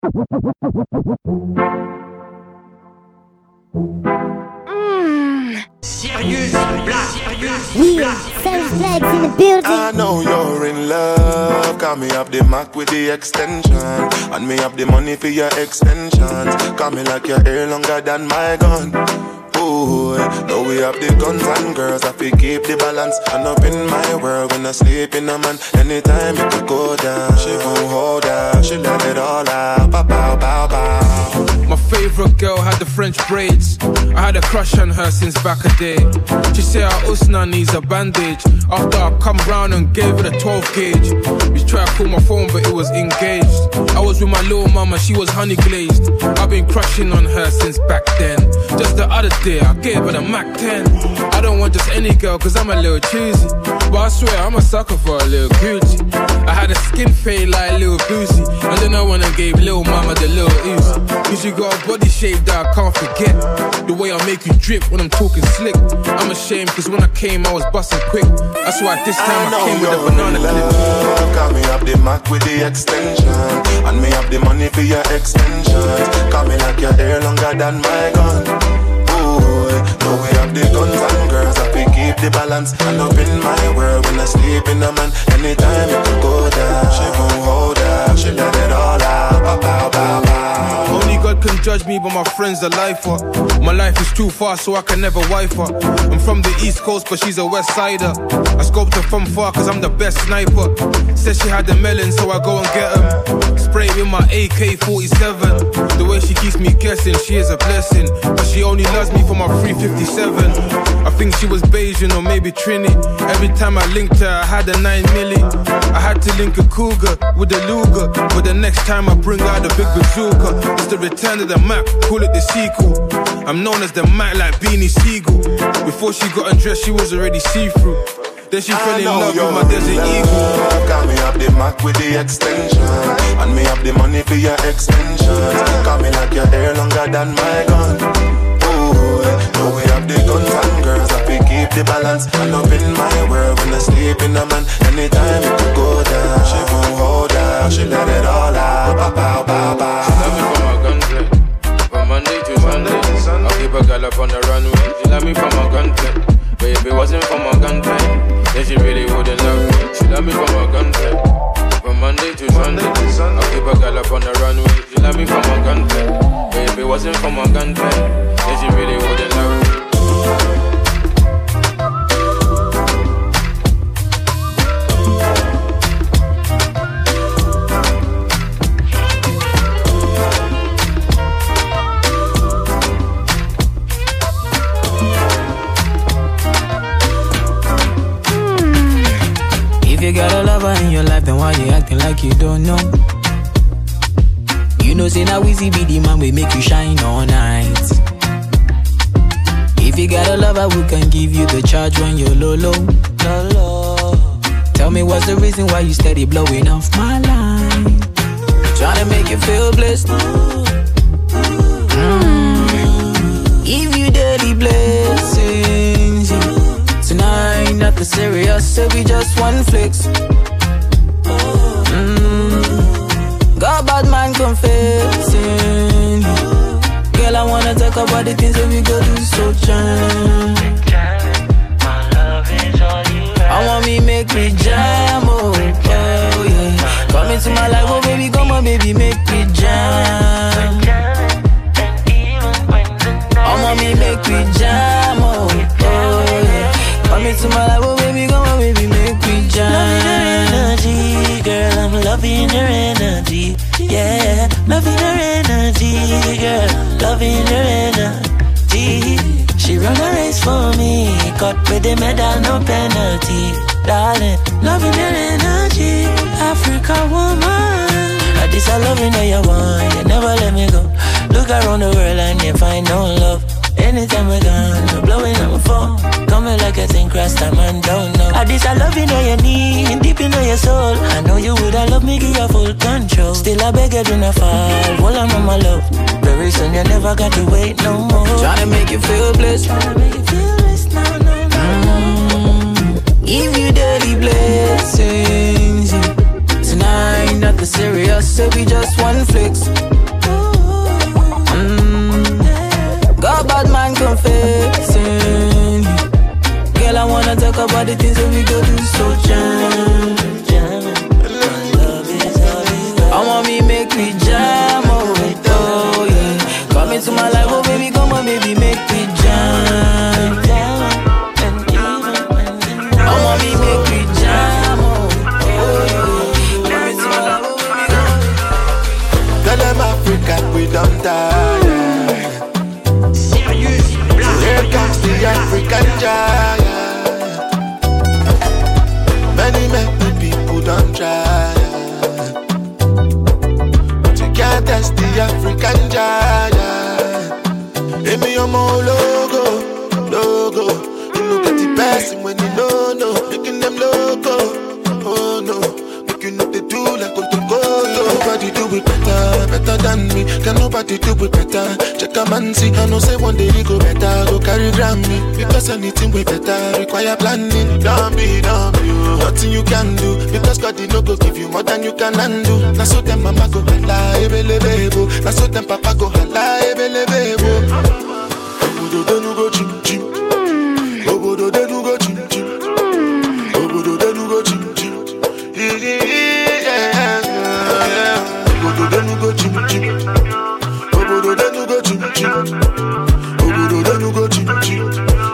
Serious Black. Yeah, Serious Black's in the building. I know you're in love. Call me up the Mac with the extension, and me have the money for your extensions. Call me like your hair longer than my gun. Ooh, now we have the guns and girls. I feel keep the balance. And up in my world when I sleep in a man. Anytime it could go down, she gon' hold out. She let it all out. Pow, pow, pow, pow. My favorite girl had the French braids. I had a crush on her since back a day. She said her usna needs a bandage. After I come round and gave her the 12 gauge. We tried to call my phone but it was engaged. I was with my little mama, she was honey glazed. I've been crushing on her since back then. Just the other day I gave her the Mac 10. I don't want just any girl cause I'm a little cheesy, but I swear I'm a sucker for a little Gucci. I had a skin fade like Lil Boosie, and then I went and gave Lil Mama the Lil Uzi. Cause you got a body shape that I can't forget. The way I make you drip when I'm talking slick. I'm ashamed cause when I came I was busting quick. That's why this time I came with a banana clip. Call me up the Mac with the extension, and me have the money for your extensions. Call me like your hair longer than my gun. Ooh, now we have the guns and girls. I feel keep the balance. And up in my world when I sleep in a man. Anytime it could go down, she gon' hold out. She let it all out. Pow, pow, pow, pow. Only God can judge me, but my friends are lifer. My life is too fast, so I can never wife her. I'm from the East Coast, but she's a West Sider. I scoped her from far, cause I'm the best sniper. Said she had the melon, so I go and get them. Spray with my AK-47. The way she keeps me guessing, she is a blessing. But she only loves me for my 357. I think she was Bayesian or maybe Trini. Every time I linked her, I had a 9 milli. I had to link a cougar with a Luger, but the next time I bring out the big bazooka. It's the return of the Mac, call it the sequel. I'm known as the Mac like Beanie Siegel. Before she got undressed, she was already see-through. Then she fell in love with my Desert Eagle. Call me up the Mac with the extension, and me have the money for your extensions. Call me like your hair longer than my gun. Ooh, now we have the guns and girls. I feel keep the balance. And up in my world when I sleep in a man. Anytime it could go down, she gon' hold out. She let it all out. Pow, pow, pow, pow. She love me for my gunplay, from Monday to Sunday. I'll keep a girl up on the runway. She love me for my gunplay, but if it wasn't for my gunplay, then she really wouldn't love me. She love me for my gunplay, from Monday to Sunday. I'll keep a girl up on the runway. She love me for my gunplay, but if it wasn't for my gunplay, then she really wouldn't love me. If you got a lover in your life, then why you acting like you don't know? You know, say now Weezy be the man we make you shine all night. If you got a lover who can give you the charge when you're low, low, low, low. Tell me what's the reason why you steady blowing off my line? Trying to make you feel blessed. Give you daily blessings, yeah. Tonight, nothing serious, so we just one flex. Got bad man confessing. Girl, I wanna talk about the things that we go do, so jam. My love is all you have. I want me make me jam, oh yeah. Come into my life, oh baby, come on baby, make me jam. I want me make me jam, oh yeah. Come into my life, oh baby, come on baby, make me jam. Loving her energy, girl, I'm loving her energy. Yeah, loving her energy, girl, loving her energy. She run a race for me, cut with the medal, no penalty. Darling, loving her energy, Africa woman. This I loving how you want, you never let me go. Look around the world and you find no love. Anytime we're gone, you're blowing up my phone. Coming like a thing, cross time and don't know. This I love you know you need, deep in your soul. I know you would have loved me, give you full control. Still I beg you do not fall, hold on my love. Very soon you never got to wait no more. Tryna make you feel blessed. Tryna make you feel blessed, no, no, no. Give you daily blessings, yeah. Tonight, nothing serious, so we just one flex. about the things that we go do so jam. I want me make me jam, oh yeah. Come into my life, oh baby, come on, baby, make me jam. I want me make me jam, oh yeah. Come into my life, oh baby, come. Tell them Africa we don't die. Serious, So here comes the African giant. Many people don't try. Can't test the African giant. Give me your more logo. You know get the best when you know. Making them loco. Oh no. Make you know they do like go to go. Nobody do it better than me. Can nobody do it better? Check a man see. I know say one day you go better. Go carry Grammy. Because anything way better require planning. Don't be nothing you can do. Because God did not go give you more than you can undo. Now so them mama go hala ebelebebo. Now so them papa go hala ebelebebo. Obodo denu go chim chim. Obodo denu go chim chim. Obodo denu go chim chim. Obodo denu go chim chim. Obodo denu go chim chim. Obodo denu go chim chim.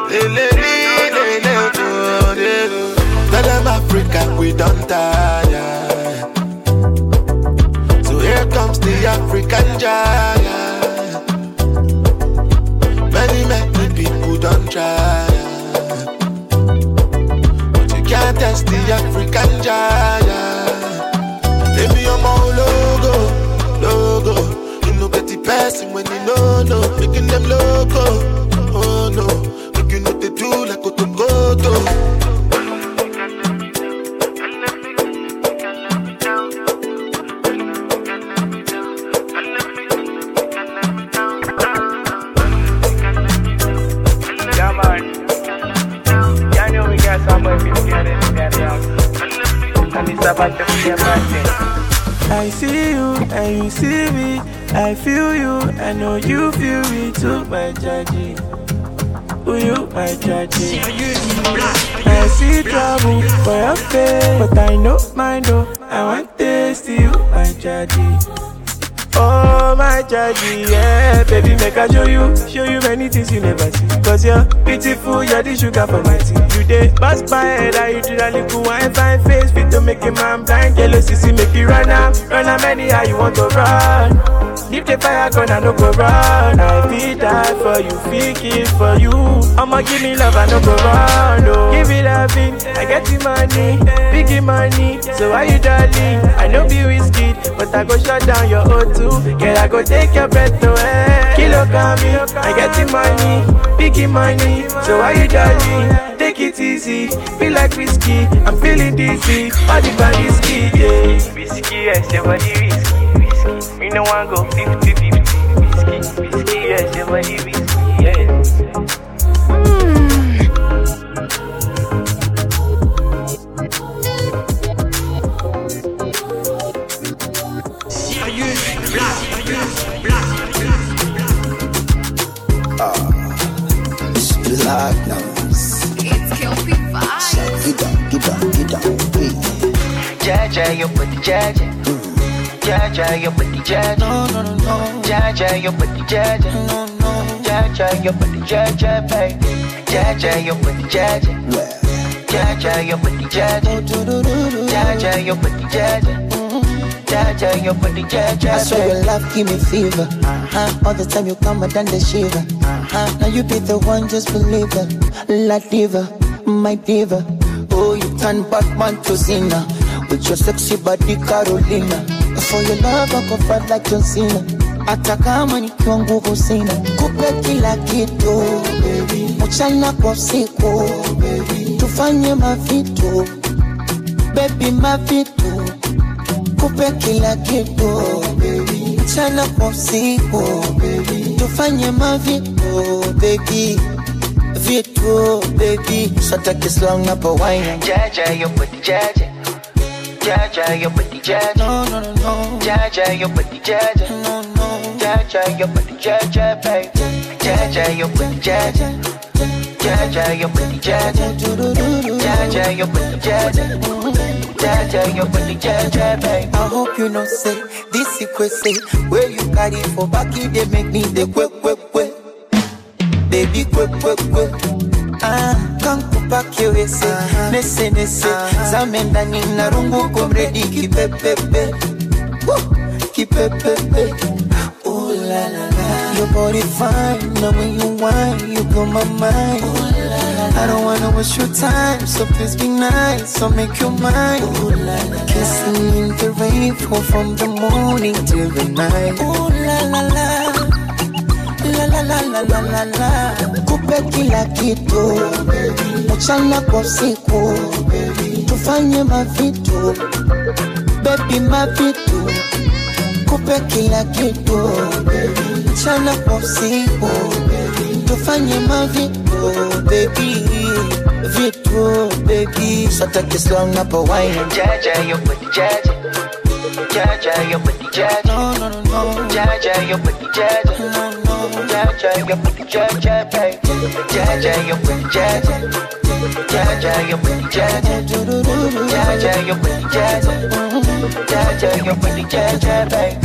Tell them Africa we don't tire. So here comes the African giant. Many people don't try. But you can't test the African giant. Give me your more logo. You know get the person when you know. Making them loco. Oh no. Make you know they do like go to go to. I see you and you see me. I feel you, I know you feel me too, my judgy. Who you, my judgy? I see trouble for your face, but I know mine though. I want taste you, my judgy. Oh my judgy, yeah, baby, make I show you many things you never see. Cause you're beautiful, you're the sugar for my tea. You dey pass my head, I you do that little wine, fine face, fit to make a man blind. Yellow CC make you run am anyhow you want to run. Leave the fire gun, I no go run. I feel die for you, feel kill for you. I'ma give me love, I no go run. Oh. Give me loving, I get the money, biggie money. So why you darling? I know be whiskey, but I go shut down your O2. Girl, I go take your breath away. Kilo kami, I get the money, biggie money. So why you darling? Take it easy, feel like whiskey. I'm feeling dizzy, all the body ski, yeah. Whiskey, yes, your body whiskey. Me no one go 50-50. Whiskey, yes, your body whiskey, yeah. Serious, black. It's black now. It's Kelpie vibes. Get down, hey. Jaja, you put the jaja. Jaja, you put the jaja. No. Jaja, you put the jaja. No. Jaja, you put the jaja, baby. Jaja, you put the jaja. Jaja, you put the jaja. Jaja, you put the jaja. Jaja, you put the jaja. I swear your love give me fever. All the time you come and done the shiver. Now you be the one, just believe it. La diva, my diva. Oh, you turn Batman to Zina with your sexy body, Carolina. For your love, I go fight like John Cena. Hata kama nikiwa nguvu sina, kupe kila kitu, mchana kwa usiku, tufanye mavitu, baby mavitu, kupe kila kitu, mchana kwa usiku, tufanye mavitu, baby. Vitu, baby, so take it slow, up a wine. Jaja, you put the jaja. Jaja, you put the jaja. No. Jaja, you put the jaja. No. Jaja, you put the jaja, baby. Jaja, you put the jaja. Jaja, you put the jaja. Jaja, your body Jaja. Jaja, your body Jaja, baby. I hope you know say this secret say where you carry for back it they make me the quick. Baby quick. Can't go back your way say nese zamenda nina rungu komredi kipepepe. Ooh la la la. Your body fine, now when you whine, you blow my mind. Ooh la la la. I don't wanna waste your time, so please be nice, so make your mind. Ooh la la la. Kissing in the rain, from the morning till the night. Ooh la la la. La. Kupe kila kitu, mchana kwa siku, tufanye mavitu, baby mavitu. Kupe kila kitu, mchana kwa siku, tufanye mavitu, baby vitu, baby. So take it slow, not a wine. Jaja, your body Jaja. Jaja, your body Jaja. No. Jaja, your body Jaja. Jaja, your body Jaja, baby. Jaja, your body Jaja. Jaja, your body Jaja. Jaja, your body Jaja. Jaja, your body Jaja, baby.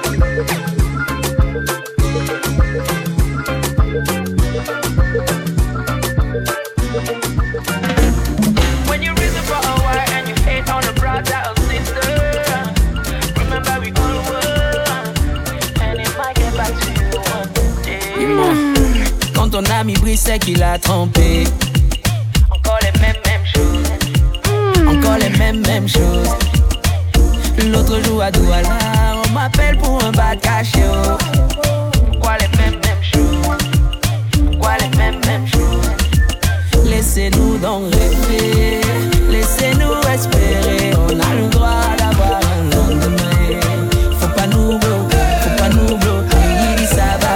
When you reason for a while and you hate on a brother or sister, remember we all were, and it might get back to you one day. Quand ton ami brisait qu'il a trompé, encore les mêmes choses. Encore les mêmes choses. L'autre jour à Douala, on m'appelle pour un bas caché. Pourquoi les mêmes choses? Pourquoi les mêmes choses? Laissez-nous donc rêver, laissez-nous espérer. On a le droit d'avoir un lendemain. Faut pas nous bloquer. Ça va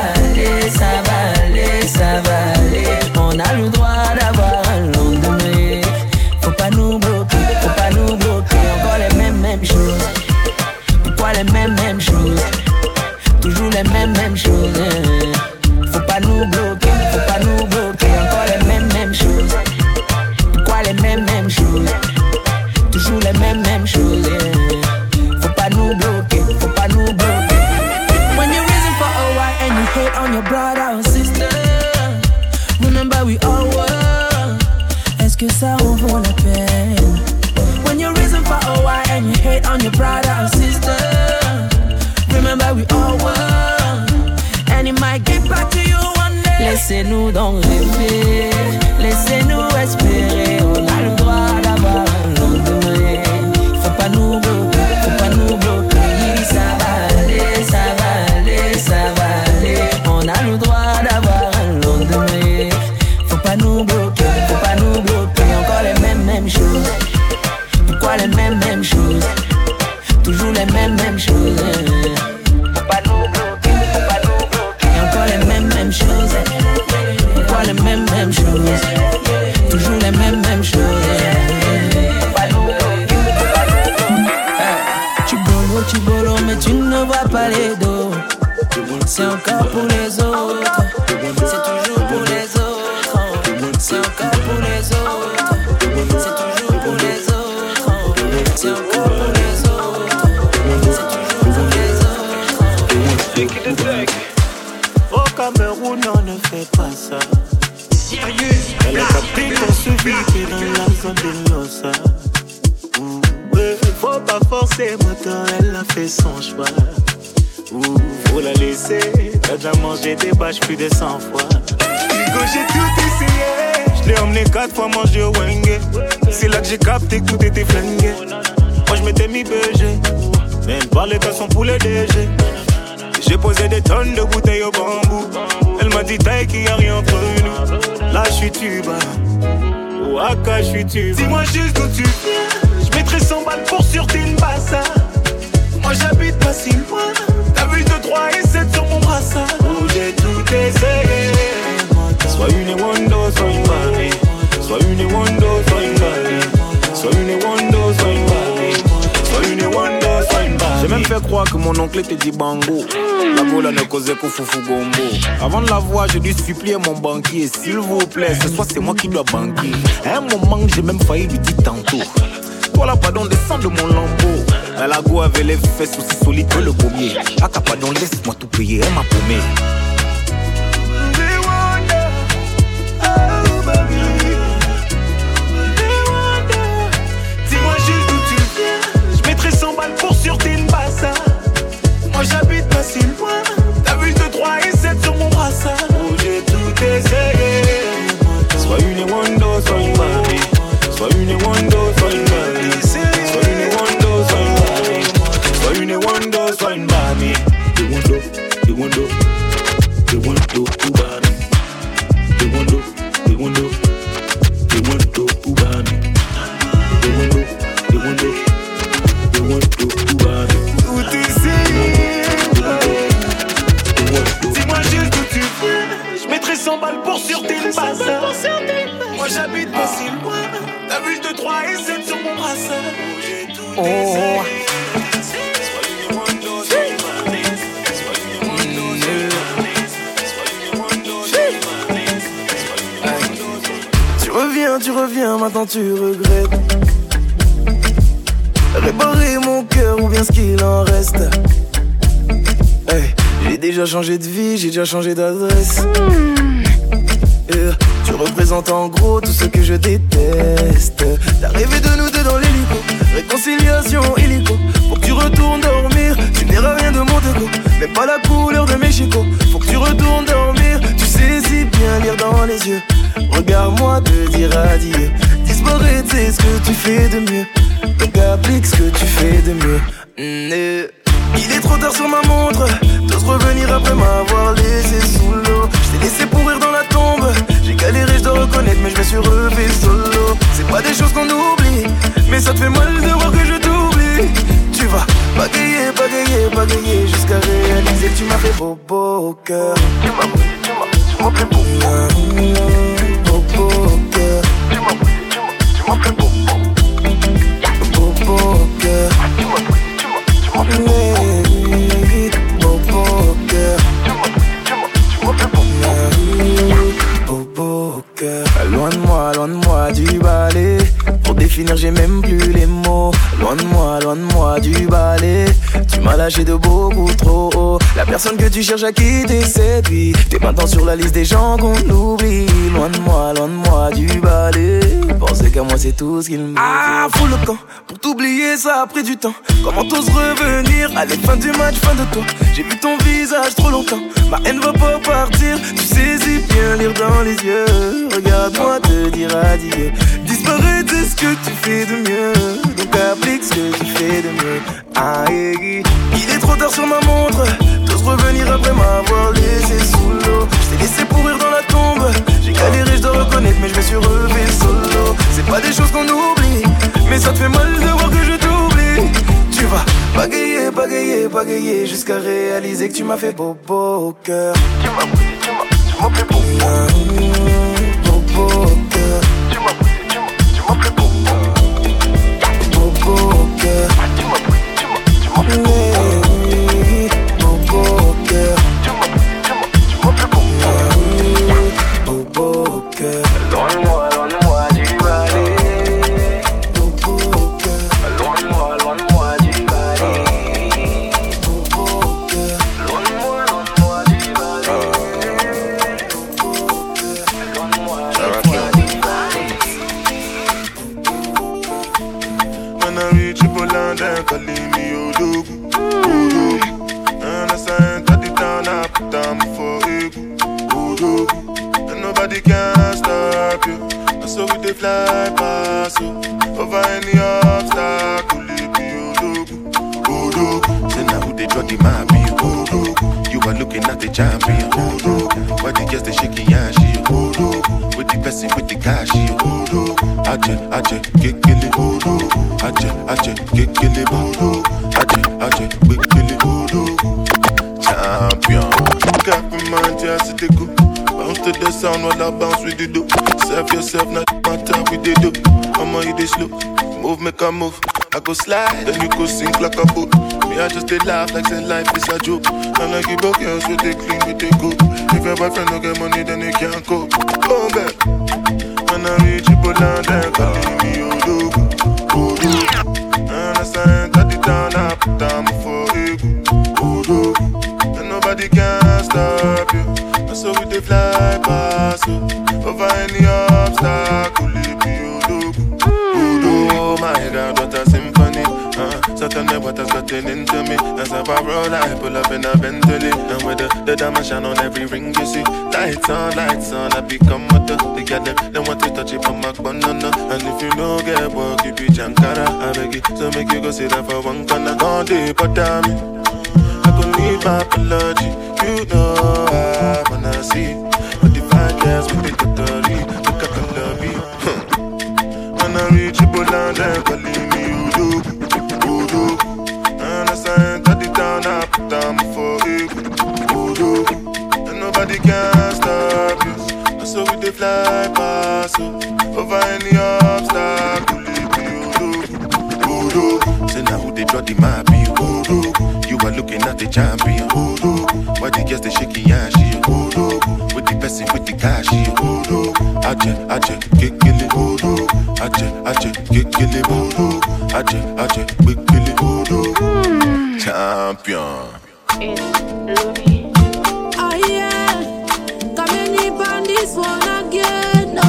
aller. On a le droit d'avoir un lendemain. Faut pas nous bloquer. Encore les mêmes choses. Pourquoi les mêmes choses? Toujours les mêmes choses. Faut pas nous bloquer. Encore les mêmes choses. Pourquoi les mêmes choses? Toujours les mêmes choses. Faut pas nous bloquer. When you're reason for a while and you hate on your brother or sister, remember we all were. Est-ce que ça en vaut la peine? When you're reason for a while and you hate on your brother or sister, remember we all were, and it might get back to you one day. Laissez-nous donc rêver, laissez-nous espérer. On a le droit d'avoir un lendemain. Faut pas nous bloquer. Ça va aller. On a le droit d'avoir un lendemain. Faut pas nous bloquer. Encore les mêmes choses. Pourquoi les mêmes choses? Toujours les mêmes choses. Faut pas nous bloquer. Encore les mêmes choses. Pourquoi les mêmes choses? Toujours les mêmes choses. Faut pas nous bloquer. Chibolo, mais tu ne vois pas les dos. C'est encore pour les autres. C'est toujours pour les autres. C'est encore pour les autres. C'est toujours pour les autres. C'est encore pour les autres. C'est toujours pour les autres. Au Cameroun, on ne fait pas ça. Elle a capté qu'on se vit dans la zone de l'Ossa. Faut pas forcer, moteur, elle a fait son choix. Faut la laisser, t'as déjà mangé des bâches plus de 100 fois. Hugo, j'ai tout essayé. Je l'ai emmené 4 fois manger au Wenge. C'est là que j'ai capté que tout était flingué. Moi je m'étais mis BG, même par les sont pour les DG. J'ai posé des tonnes de bouteilles au bambou. Elle m'a dit taille qu'il y a rien entre nous. Là je suis tuba, Ouaka je suis tuba. Dis-moi juste d'où tu viens. Je mettrai 100 balles pour sur Tinbassa. Moi j'habite pas si loin. T'as vu 2, 3 et 7 sur mon brassard. Où j'ai tout essayé. Soit une Wando, soit une Barbie. Soit une Wando, soit une Barbie. Soit une Wando, soit une Barbie. Soit une Wando, soit une Barbie. J'ai même fait croire crois que mon oncle te dit bango. La bola ne causait qu'au foufou gombo. Avant de la voir, j'ai dû supplier mon banquier. S'il vous plaît, ce soir c'est moi qui dois banquer. À un moment, j'ai même failli lui dire tantôt. Toi là, pardon, descends de mon lambeau. La go avait les fesses aussi solides que le pommier. Aka, pardon, laisse-moi tout payer, elle m'a paumé. Dis-moi juste d'où tu viens. Je mettrai 100 balles pour sur tes mbassa. Moi j'habite pas si loin. T'as vu de 3 et 7 sur mon brassard. Oh, j'ai tout essayé. Sois une Wando, sois une mamie. Sois une Wando, sois une mamie. Sois une Wando, sois une mamie. Sois une Wando, sois une mamie. The Wando, the Wando, the Wando, Ubami. The Wando, the Wando, the Wando, Ubami. The Wando, the Wando, the Wando, Ubami. Tout essayé. Dis-moi juste d'où tu viens. Je mettrai 100 balles pour sur tes mbassa. Moi j'habite pas si loin. T'as vu de 3 et 7 sur mon brassard. J'ai tout essayé. Tu reviens, maintenant tu regrettes. Réparer mon cœur ou bien ce qu'il en reste. Hey, j'ai déjà changé de vie, j'ai déjà changé d'adresse. Tu représentes en gros tout ce que je déteste. T'as rêvé de nous deux dans l'hélico. Réconciliation illico. Faut que tu retournes dormir. Tu n'airas rien de mon déco. Même pas la couleur de mes chicots. Faut que tu retournes dormir. Tu sais si bien lire dans les yeux. Regarde-moi te dire adieu. Disparaître c'est ce que tu fais de mieux. Donc applique ce que tu fais de mieux. Il est trop tard sur ma montre. T'oses revenir après m'avoir laissé sous l'eau. Je t'ai laissé pourrir dans la tombe. J'ai galéré, je dois reconnaître, mais je me suis relevé solo. C'est pas des choses qu'on oublie, mais ça te fait mal de voir que je t'oublie. Tu vas bagayer, bagayer, bagayer jusqu'à réaliser que tu m'as fait bobo au cœur. Tu m'as fait bobo au cœur. Tu m'as fait bobo au cœur. Loin de moi du balai. Pour définir j'ai même plus les mots. Loin de moi du balai. Tu m'as lâché de beaucoup trop haut. La personne que tu cherches à quitter c'est lui. T'es maintenant sur la liste des gens qu'on oublie. Loin de moi du balai. Penser qu'à moi c'est tout ce qu'il me dit. Ah, fous le camp. Pour t'oublier ça a pris du temps. Comment t'oses revenir? Allez, fin du match, fin de toi. J'ai vu ton visage trop longtemps. Ma haine va pas partir. Tu sais si bien lire dans les yeux. Regarde-moi te dire adieu. Disparaître c'est ce que tu fais de mieux. Donc applique ce que tu fais de mieux. Ah, il est trop tard sur ma montre. T'oses revenir après m'avoir laissé sous l'eau. Je t'ai laissé pourrir dans la tombe. J'ai galéré, je dois reconnaître, mais je me suis relevé solo. C'est pas des choses qu'on oublie, mais ça te fait mal de voir que je t'oublie. Tu vas bagayer, bagayer, bagayer jusqu'à réaliser que tu m'as fait bobo au cœur. Tu m'as fait bobo au cœur. Tu m'as fait bobo au cœur. Fly past you over any obstacle. Say now who they drug the map you are looking at the champion. Why the girls they shaking your shit? With the person with the cash. Aje, kekele. Aje, kekele. Aje, kekele. Champion. Got me mind just to go. Bounce to the sound while I bounce with the dope. Serve yourself, not my time with the dope. I'ma hit this slow. Move, make a move. I go slide, then you go sink like a boat. Me I just did laugh like say life is a joke. And I give up girls with they clean, with they cook. If your boyfriend don't get money, then they can't cope. Oh, back. When I reach you, pull down there, calling me Odogu, Odogu. And as I enter the town, I put down for Egu, Odogu. And nobody can stop you. And so we they fly past you. Over any obstacle, leave me Odogu, Odogu. Oh my God, what a symphony. Certainly what has gotten into me. As I roll, I pull up in a Bentley. And with the diamond shine on every ring you see. Lights on, I become mother. They got them want to touch it from my banana. And if you know get work, you be Jankara. I beg you, so make you go sit down for one corner. All day, but damn it, I could need my apology. You know I wanna see. But the fine girls with the cutlery, look at the lobby. When I reach you, pull on them, calling me Udogu. And as I enter the town, I put down for Egu, and nobody can stop you. And so we they fly past you. Over any obstacle, leave me Udogu. Say now who they draw the map, Udogu. You are looking at the champion, Udogu. Why the girls they shaking and she Udogu. With the person with the cash, Udogu. Aje, kekele, Udogu. Aje, kekele, Udogu. Aje, kekele, Udogu. Champion. Oh yeah, come in on this one again.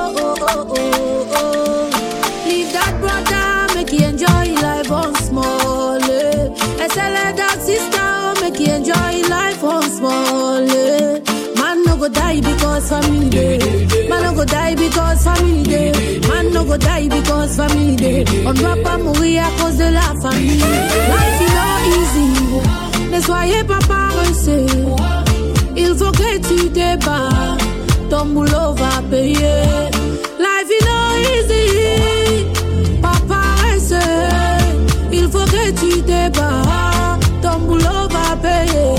Oh. Leave that brother, make you enjoy life on small. I tell that sister, make you enjoy life on small. Man no go die because family day. Man no go die because family day. Man no go die because family day. On doit pas mourir à cause de la famille. Life is not easy. Ne soyez pas paresseux. Il faut que tu te bats. Ton boulot va payer. Life is not easy. Pas paresseux. Il faut que tu te bats. Ton boulot va payer.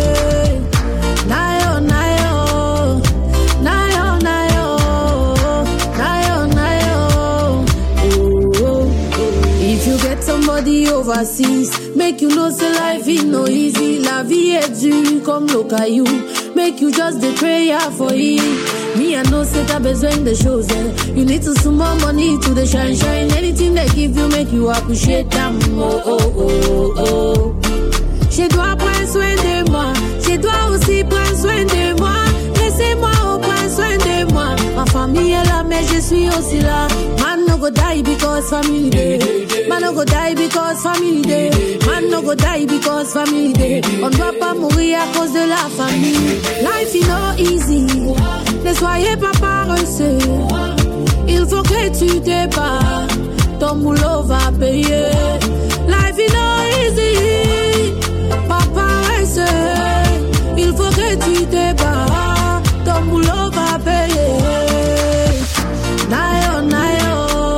Nayo, nayo. Nayo, nayo. Nayo, nayo. Oh. If you get somebody overseas, make you know say life is no easy. La vie est dure comme le caillou. Make you just the prayer for it. Me I know say t'as besoin de choses. You need to sum more money to the shine. Anything they give you make you appreciate them. Oh. Je dois prendre soin de moi. Je dois aussi prendre soin de moi. Laissez-moi prendre soin de moi. Ma famille est là mais je suis aussi là. Man no go die because family day. Man no go die because family day. Man no go die because family day. On doit pas mourir à cause de la famille. Life is not easy. Ne soyez pas paresseux. Il faut que tu te bats. Ton boulot va payer. Life is not easy. Pas paresseux. Il faut que tu te bats. Ton boulot va payer. Nayo, nayo.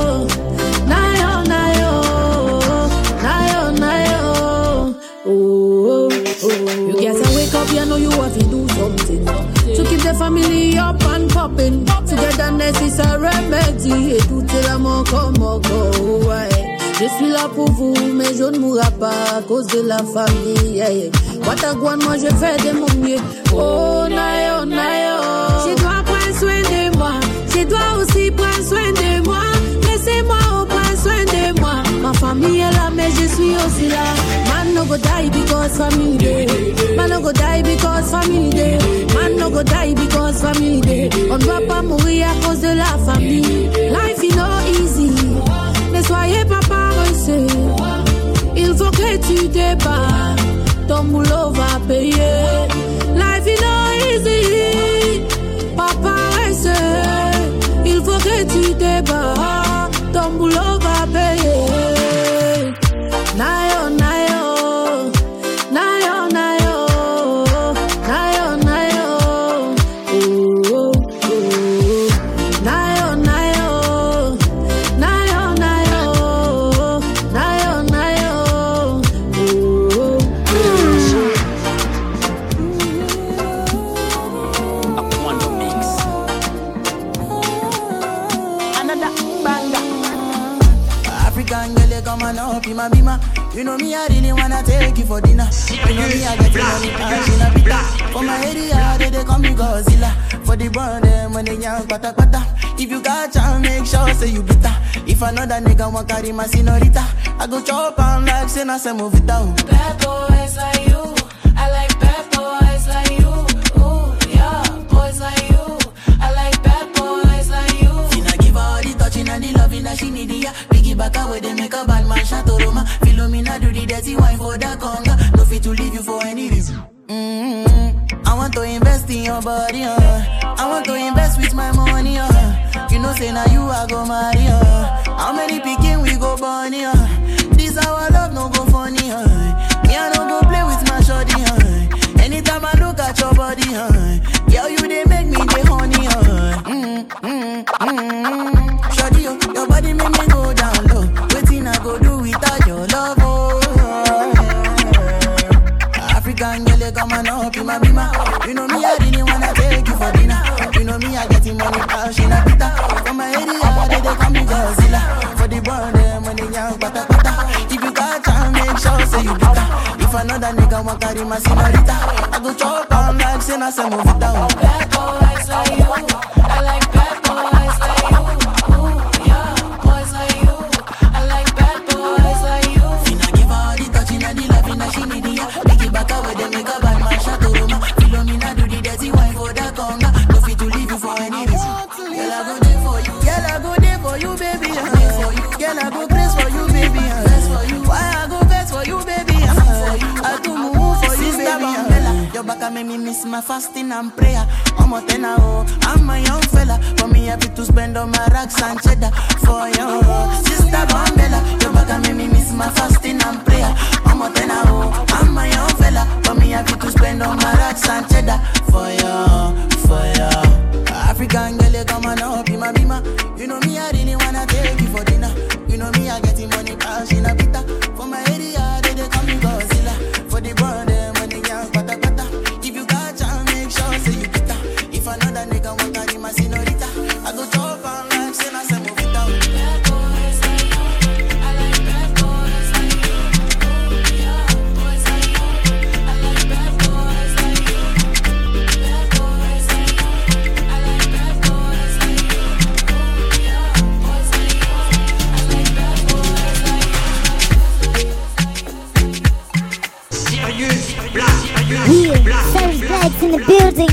You guys wake up, you know you have to do something to keep the family up and popping. Togetherness is a remedy. Et tout est l'amour comme go. Je suis là pour vous, mais je ne mourrai pas à cause de la famille. Watagouane, moi je fais de mon mieux. Oh, nayo, nayo. Je dois prendre soin de moi. Je dois aussi prendre soin de moi. Laissez-moi prendre soin de moi. Ma famille est là, mais je suis aussi là. Man no go die because family day. Man no go die because family day. Man no go die because family day. On doit pas mourir à cause de la famille. Life is not easy. Ne soyez pas paresseux. Il faut que tu te bats. Ton boulot va payer. Life is not easy. Pas paresseux. Il faut que tu te bats. Ton boulot va payer. Nayo, nayo. Nayo, nayo. Nayo, nayo. Oh. Nayo, nayo. Nayo, nayo. Nayo, nayo. be my bima. You know me, I really wanna take you for dinner. You know me, I get the money, passion a bit. For my area, they call me Godzilla. For the brand, them when they young, pata pata. If you got chance, make sure say you bitter. If another nigga want carry my senorita, I go chop on like say na se move it out. Bad boys like you, I like bad boys like you. Ooh, yeah, boys like you, I like bad boys like you. Finna give her all the touching and the loving that she need, yeah. Biggie back away, they make a bad man shot Roma. Philomena do the dirty wine for the conga. No fit to leave you for any reason. I want to invest in your body, I want to invest with my money, You know say now you I go marry, How many picking we go born, This our love no go funny, Me I no go play with my shorty, Anytime I look at your body, Girl you they make me the honey, Shorty, your body make me go down low. Waiting I go do without your love, African girl, you come and up in my bima. You know me, I really wanna take you for dinner. You know me, I get the money, passion a bit. For my area, they call me Godzilla. For the brand, them when they young, pata pata. If you got time, make sure say you bitter. If another nigga want carry my senorita, I go chop on like say na se move it down. Bad boys like you, I like bad boys like you. Ooh, yeah, boys like you, I like bad boys like you. Finna give her all the touching and the loving that she need, yeah. Back away, they make a bad man shot Roma. Philomena do the dirty wine for the conga. No fit to leave you for any reason. Girl, I go there for you. Girl, I go there for you, baby. Girl, I go press for you, baby. Why I go best for you, baby? I do move for you, baby. Your back make me miss my fasting and prayer. I'm a tenor, I'm a young fella. For me, happy to spend on my racks and cheddar. For you, Sister Bambella. Your back make me miss my fasting and prayer. I'm a tenor, I'm a young fella. For me, happy to spend on my racks and cheddar. For you. African girl, you come and up in my bima. You know me, I really wanna take you for dinner. You know me, I get the money, passion a bit. For my area, they call me Godzilla. For the brand, them when they young, pata pata. If you got chance, make sure say you bitter. If another nigga want carry my senorita, I go chop on like say na se move it out. Bad boys like you, I like bad boys like you. Ooh, yeah, boys like you, I like bad boys like you. Bad boys like you, I like bad boys like you. Ooh, yeah, boys like you, I like bad boys like you. Serious black, Yeah, Savage Blacks in the building.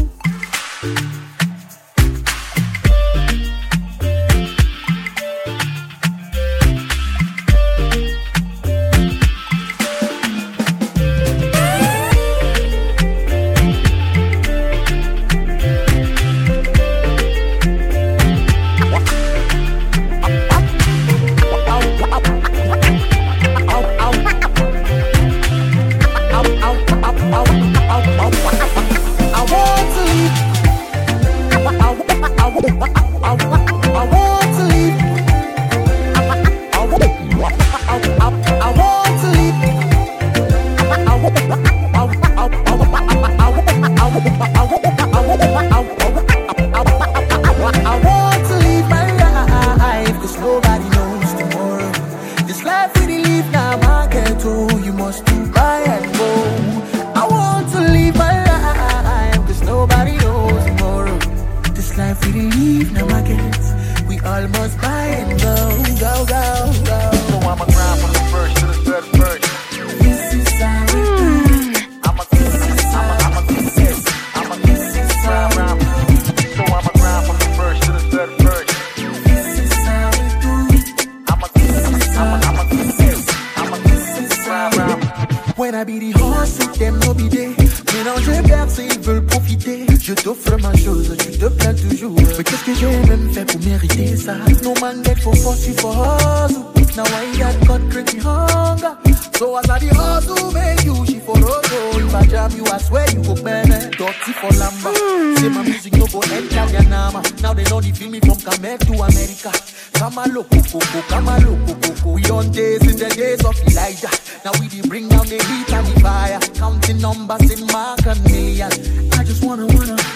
When I be the horse, them no be there. Mélanger percé, ils veulent profiter. Je t'offre ma chose, tu te plains toujours. Mais qu'est-ce que j'ai même fait pour mériter ça? No man get for force, you for hustle. Now I got God drink me hunger. So as I the hustle, make you, she for roto. If I jam you, I swear you go burn it. Dirty for lamba. Say my music no go enter your nama. Now they know they feel me from Cameroon to America. Kamalo Coco, Kamalo Coco. We on days in the days of Elijah. Now we dey bring down the heat and the fire. Counting numbers in mark and million. I just wanna.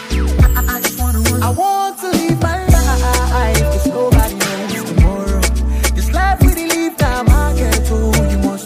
I want to live my life, cause nobody knows tomorrow. This life we live now, I can't tell you must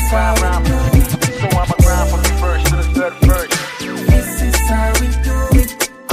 how we do it. So I'ma grind from the first to the third verse. This is how we do it.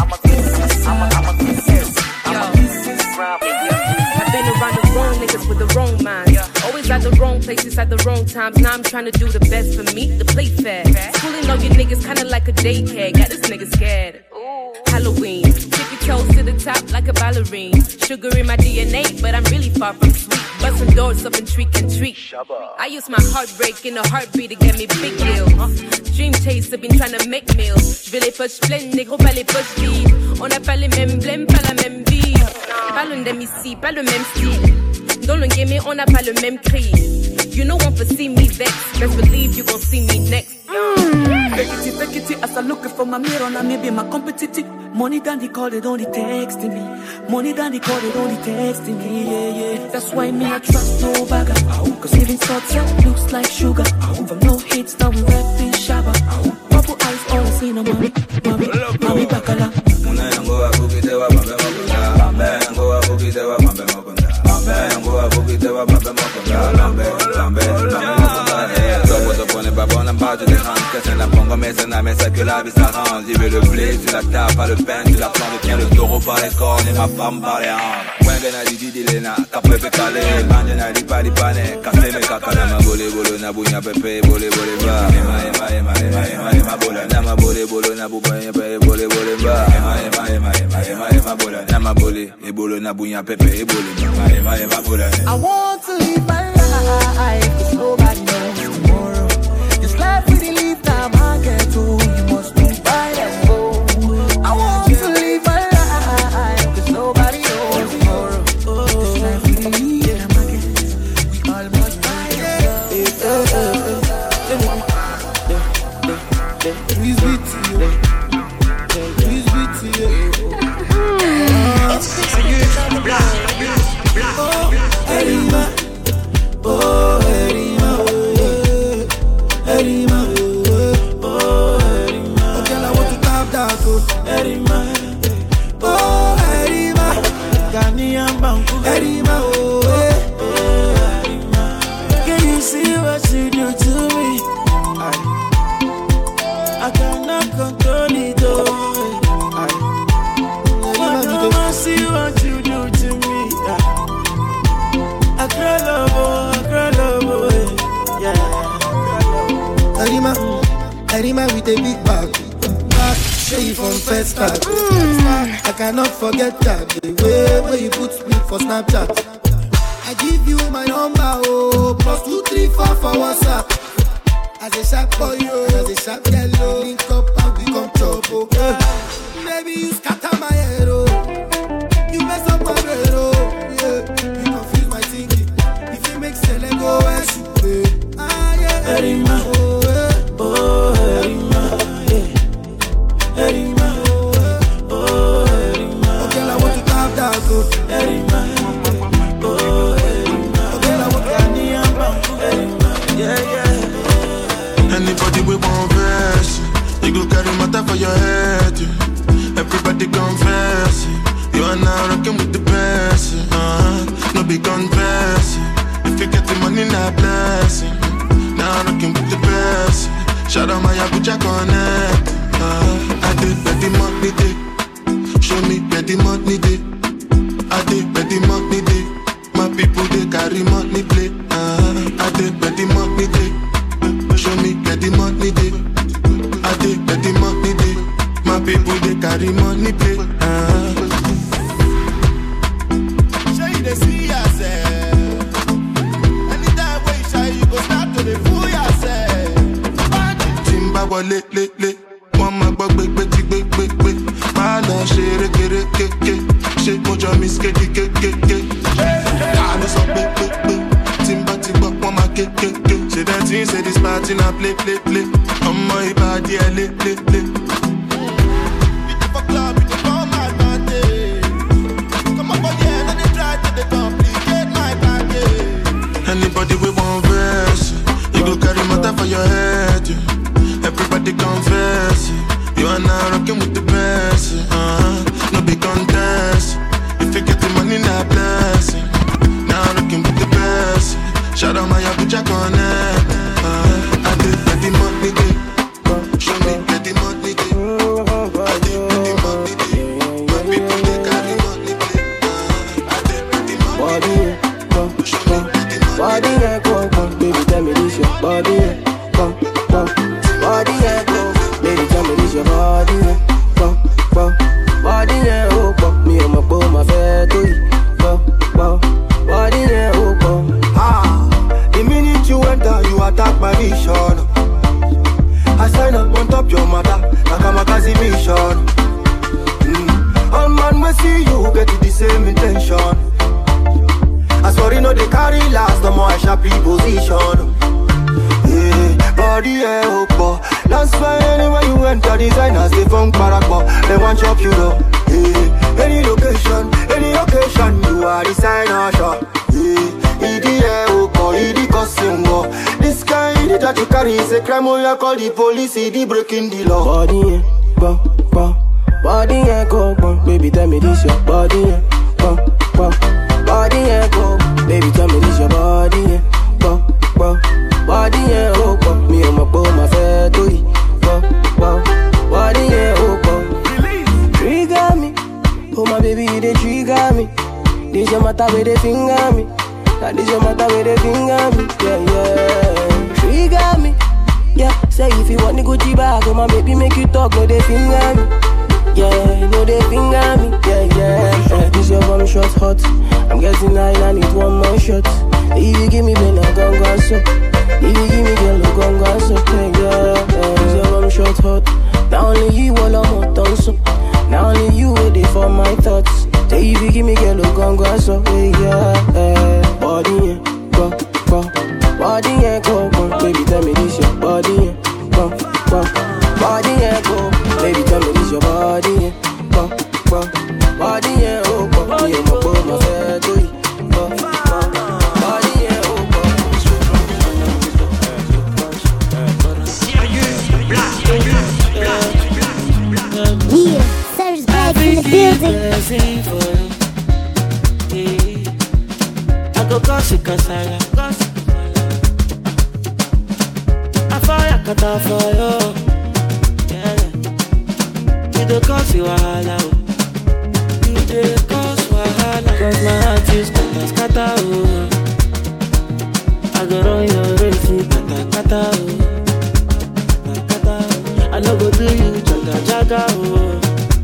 I've been around the wrong niggas with the wrong minds. Always at the wrong places at the wrong times. Now I'm trying to do the best for me, to play fair. Schooling all you niggas kinda like a daycare. Got this nigga scared. Halloween, tippy toes to the top like a ballerine. Sugar in my DNA, but I'm really far from sweet. Busting doors up and treat and treat. I use my heartbreak in a heartbeat to get me big deals. Dream chaser, been trying to make meals. Je vais les poches pleines, négro, pas les poches vides. On n'a pas les mêmes blèmes, pas la même vie. Pas le même ici, pas le même style. Dans le game, on n'a pas le même cri. You know one for see me vex. Best believe you gon' see me next. Fake it, as I look for my mirror, now maybe my competitive. Money down the call, they don't texting me. Money down the call, they don't texting me. Yeah. That's why me I trust no bagger. Cause living thoughts looks like sugar. From no hits, now we rapping shabba. Purple eyes, all I see no mommy bakala. La pongo mécénat, mais c'est que la vie s'arrange. J'y vais le blé, tu la tapes, pas le pain, tu la plantes, tiens le taureau par les cornes et ma femme par les hanches. Wengena di di lena, kapepe kale, banjena di pa di pane, kaseme kakala, ma bole bolo na bunya pepe, bole bole ba. Ema bola, na ma bole bolo na bunya pepe, bole bole ba. Ema bola, na ma bole, e bolo na bunya pepe, e bole ba. Ema bola. I want to live my life, cause nobody knows tomorrow. This life we live now, I get to, you must be by that phone. I want to live my life, cause nobody knows tomorrow. This life we live now, I get to, we all must buy that Please be to you. Please be to you. Erima, oh Erima, Erima, oh Erima. Okay, I want to tap that, oh Erima, oh Erima, Ghanaian Banku, Erima, oh Erima. Can you see what you do to me? I cannot control it, oh. Mama, see what you do to me. I cry love, yeah. Erima with a big bag. Show you from first start. I cannot forget that the way where you put me for Snapchat. I give you my number, oh, +234 for WhatsApp. As a sharp boy, as a sharp yellow, link up and become trouble. Baby, you scatter my head, oh. You mess up my brain, oh. Yeah. You confuse my thinking. If you make Sele go and shoot, yeah. Erima, oh, yeah. Oh, Erima, yeah. Erima, oh, Erima. Okay, I want to tap that, oh. Erima, oh, Erima. Okay, I want to Erima, yeah. Anybody with one verse, you go carry matter for your head. Everybody confess, you are now rocking with the best. No big confess, if you get the money, not blessing. Now rocking with the best. Shout out my Abuja Connect. I did where the money day. Show me where the money day. I did where the money day. My people they carry money play. I did where the money day. Show me where the money day. I did where the money day. My people they carry money play. Show you the see yourself. Anytime when you shy, you go start to the fool yourself. Timba wale le. One my bug big. My love share ke. Shake mojo miss ke. I know some big. Timba one my ke. Say that thing, say this party now play. On my body, I lit. Anybody with one verse, you go carry matter for your head. Everybody confess, you are now rocking with the best. No big contest, if you get the money, not blessing. Now rocking with the best. Shout out my Abuja Connect. reposition. Yeah, body up. That's why anywhere you enter, designers they funk parakwa. They want chop you up. Yeah, any location, any occasion, you are designer shop. Yeah, idi costume. This kind that you carry is a crime. Oh, you call the police, the breaking the law. Body, body, go, baby, tell me this your body, body, go, baby, tell me this your body, body, me and my boy, my fair to you, body, trigger me, oh my baby, you they trigger me. This your matter where they finger me, that this your matter where they finger me, yeah, trigger me. Yeah, say if you want the Gucci bag, oh my baby make you talk, no they finger me. Yeah, no they finger me. Yeah. This your one shot hot. I'm getting high, I need one more shot. If you give me then I gon' go so. If you give me girl, I gon' go so. Yeah, this your one shot hot. Not only you all I'm hot on so. Not only you waiting for my thoughts. Say if you give me girl, I gon' go so. Yeah, body, body, go, baby, tell me this your body, body, go, baby, tell me this your body, body, me and my boy, my fair to you, body, Yeah, Serge Black in the building. I go gossip cause I like gossip. I fire kata for you. Yeah. You don't cause you wahala. You don't cause wahala. Cause my heart is kata oh. I go run your race kata oh. I no go do you jaga oh.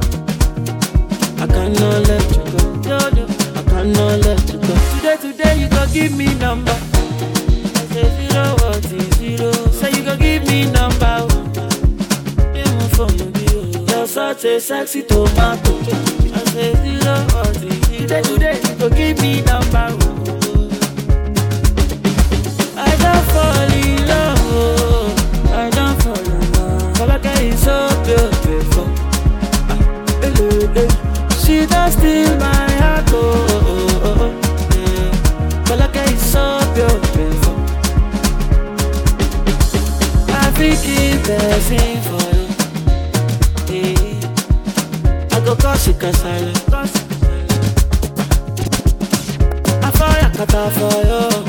I cannot let you go. I cannot let you go. Today you go give me number. I say 0 what is 0. Say you go give me number. You're such a sexy tomato. I say 0 what is 0. Today you go give me number. I don't fall in love. I don't fall in love. All I get is so beautiful. She does steal my heart. So beautiful. I think it's blessing for you. Yeah. I go cause you cause I like gossip. I fire kata for you.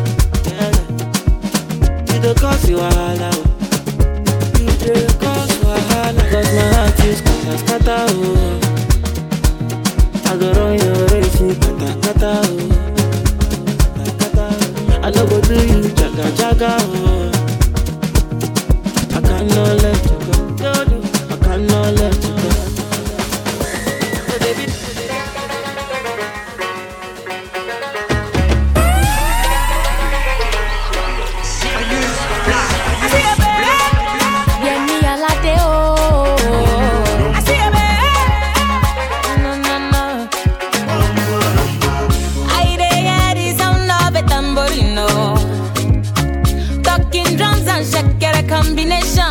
Yeah. You don't cause you wahala. You don't cause wahala. Cause my heart is kata oh. I go run your race kata oh. I no go do you jaga oh. I cannot let you go. I cannot let you go. Baby. Combination.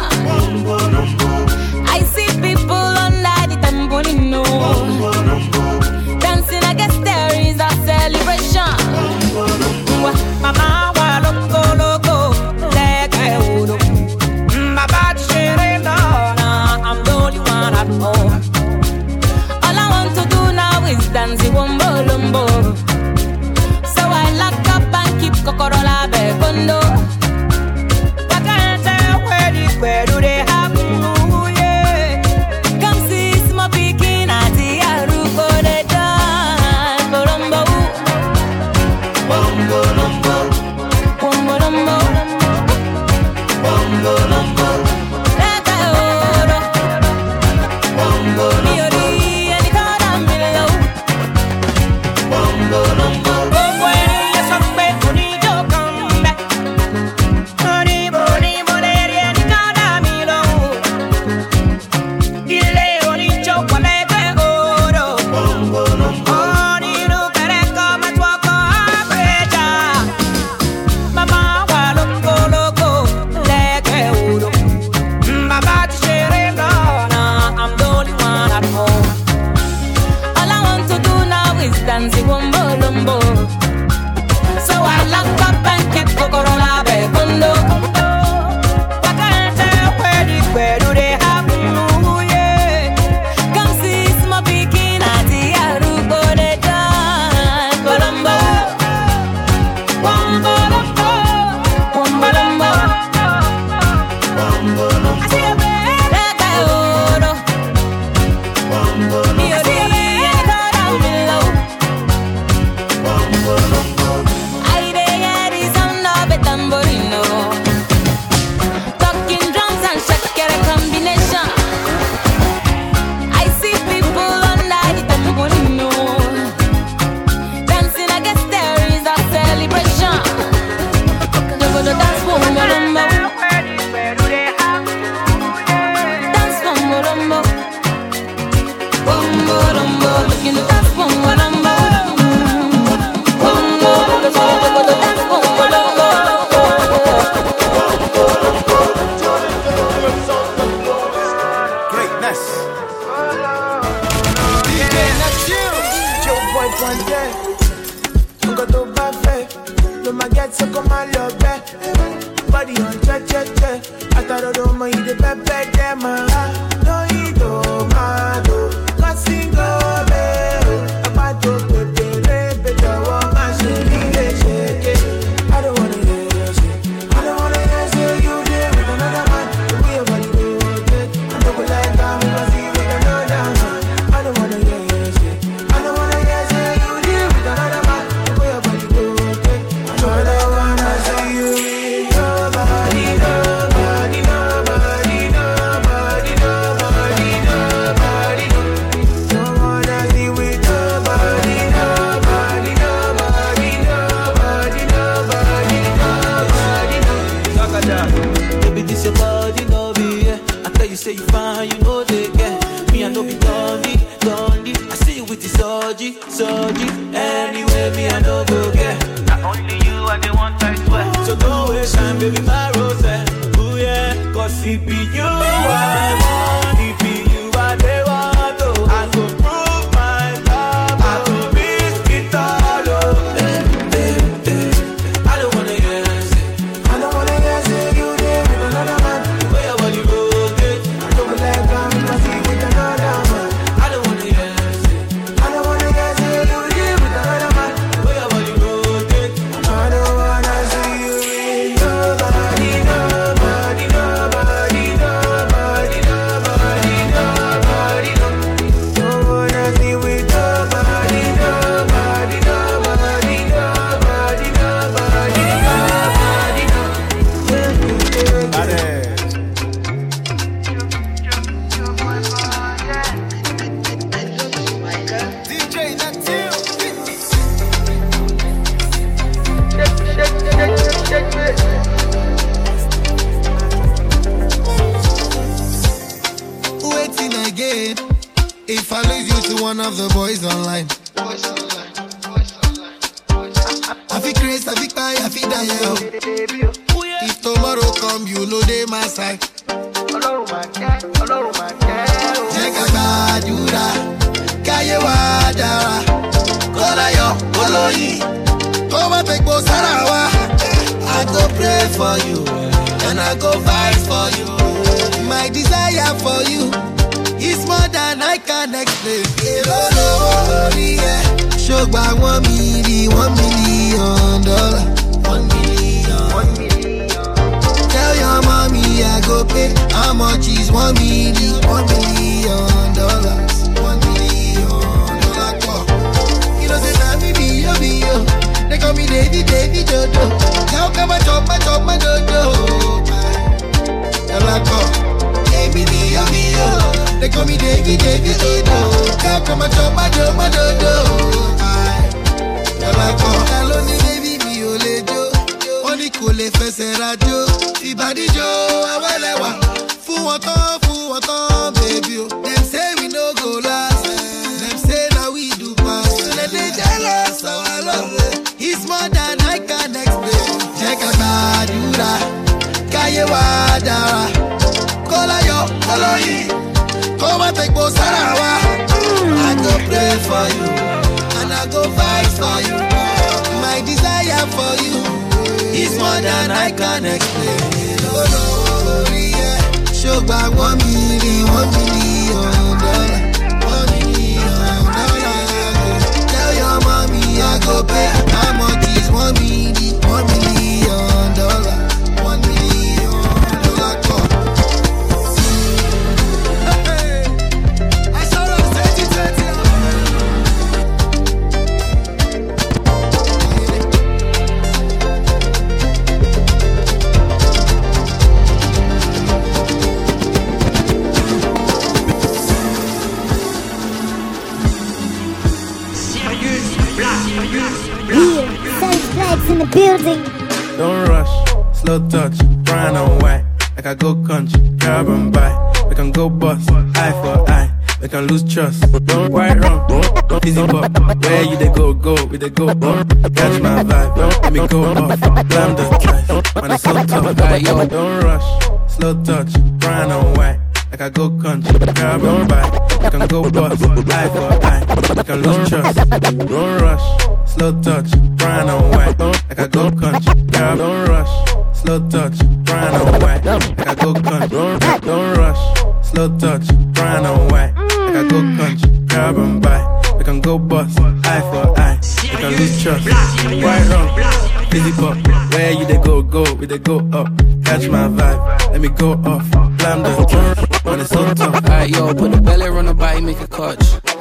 I see people under the tamborino dancing. I guess there is a celebration. Mama, loco, like I would. My body sharing, I'm the only one at home. All I want to do now is dance the wombo lumbo. So I lock up and keep Cocorola Begondo. Baby, this your body, no be, yeah. I tell you, say you fine, you know they get. Me, I know be dummy. I see you with the surgery. Anyway, me, I know go get. Not only you, I the one I swear. So don't waste time, baby, my rose. Ooh, yeah. Cause it be you, I want. It be you, I they want. Oh, I go prove my love. I go risk it all. Oh, I don't wanna hear say. I don't wanna hear say you there with another man. Where your body goes, I don't like I'm in my seat with another man. I don't wanna hear say. I don't wanna hear say you there with another man. Where your body goes, I don't wanna see you with nobody, nobody, nobody, nobody, nobody, nobody, no. Don't wanna see with nobody, nobody, nobody, nobody, nobody, nobody, no. DJ Natil. Waiting again. If I lose you to one of the boys online, I feel crazy, I feel tired, I feel die. If tomorrow come, you know they my side. Check out Badura, Kayewa Dara, Kolayo, Koloyi, Koma Tekbo Sarawa. I go pray for you, and I go fight for you. My desire for you is more than I can explain. Shogba $1 million, $1 million. Tell your mommy I go pay. How much is $1 million? $1 million. $1 million. You know say na me be yo. They call me Davy Dodo. Now come and chop my dodo. They call me Davy Dodo. Now come and chop my dodo. Hello ni baby mi ò lè jó. Wọ́n ní kò lè fẹsẹ̀ rajo. Ìbàdíjọ́ awẹ́lẹ́wà. Fún wọn tán, baby o. Dem say we no go last. Dem say na we do pass. Dem dey jealous of our love. It's more than I can explain. Check out Badura, Kayewa Dara, Kolayo, Koloyi, Koma Tekbo Sarawa. I go pray for you, and I go fight for you. My desire for you is more than I can explain. Oh, yeah. Shogba $1 million, $1 million. $1 million. Tell your mommy I go pay. How much is $1 million? $1 million. $1 million. I saw us 2020. In the building. Don't rush, slow touch, brown and white. Like I go country, carbon buy. We can go bust, eye for eye. We can lose trust. Don't right wrong, don't easy pop. Where you they go, we they go up. Catch my vibe, let me go off. Blam the drive, man it's so tough. Like, yo, don't rush, slow touch, brown and white. Like I go country, carbon buy. We can go bust, eye for eye. We can lose trust. Don't rush, slow touch, brown and white. Like I go country, girl, don't rush. Slow touch, brown and white. Like I go country, don't rush. Slow touch, brown and white. Like I go country, grab and buy. We can go bust, eye for eye. We can lose trust, right wrong. Busy pop, where you they go, we they go up. Catch my vibe, let me go off. Blam the drum, when it's so tough. Alright, yo, put the belly on the body, make a catch.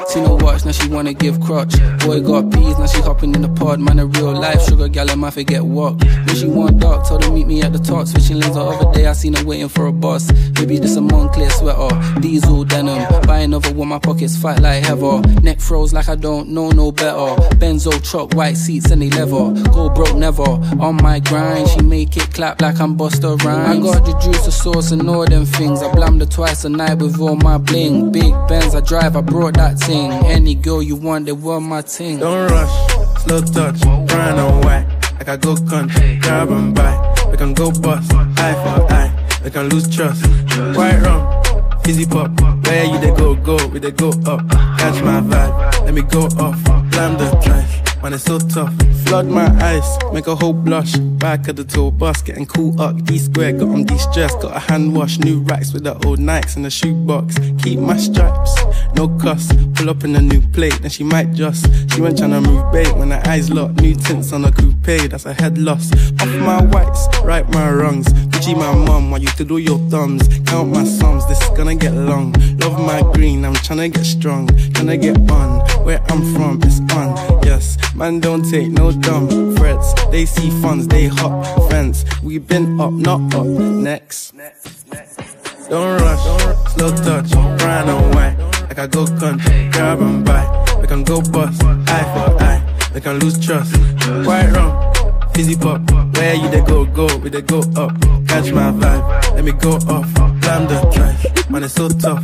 Seen her watch, now she wanna give crutch. Boy got peas, now she hopping in the pod. Man, a real life sugar gal, and my forget what. When she want dark, told her meet me at the top. Switching lanes the other day, I seen her waiting for a bus. Maybe this a Moncler sweater, diesel denim. Buy another one, my pockets fight like heather. Neck froze like I don't know no better. Benzo truck, white seats and they leather. Go broke never, on my grind. She make it clap like I'm Busta Rhymes. I got the juice, the sauce and all them things. I blammed her twice a night with all my bling. Big Benz I drive, I brought that thing. Any girl you want, they were my ting. Don't rush, slow touch, brown and white. Like I go country, grab and buy. We can go bust, eye for eye. We can lose trust, quite wrong. Easy pop, where you they go, we they go up. Catch my vibe, let me go off. Blam the drive, man it's so tough. Flood my eyes, make a whole blush. Back of the tour bus, getting cool up. D-square, got them de-stressed. Got a hand wash, new racks with the old Nikes in the shoebox. Keep my stripes, no cuss. Pull up in a new plate, then she might just. She went tryna move bait when her eyes locked. New tints on a coupe, that's a head loss. Off my whites, right my wrongs. Gucci my mum, while you to do your thumbs. Count my sums, this is gonna get long. Love my green, I'm tryna get strong. Tryna get on, where I'm from, it's on. Yes, man don't take no dumb threats. They see funds, they hop fence. We been up, not up, next. Don't rush, slow touch, brown and white. Like I go country, grab and buy. We can go bust, eye for eye. We can lose trust, quite wrong. Fizzy pop, where you they go, we they go up. Catch my vibe, let me go off. Blam the drive, man it's so tough.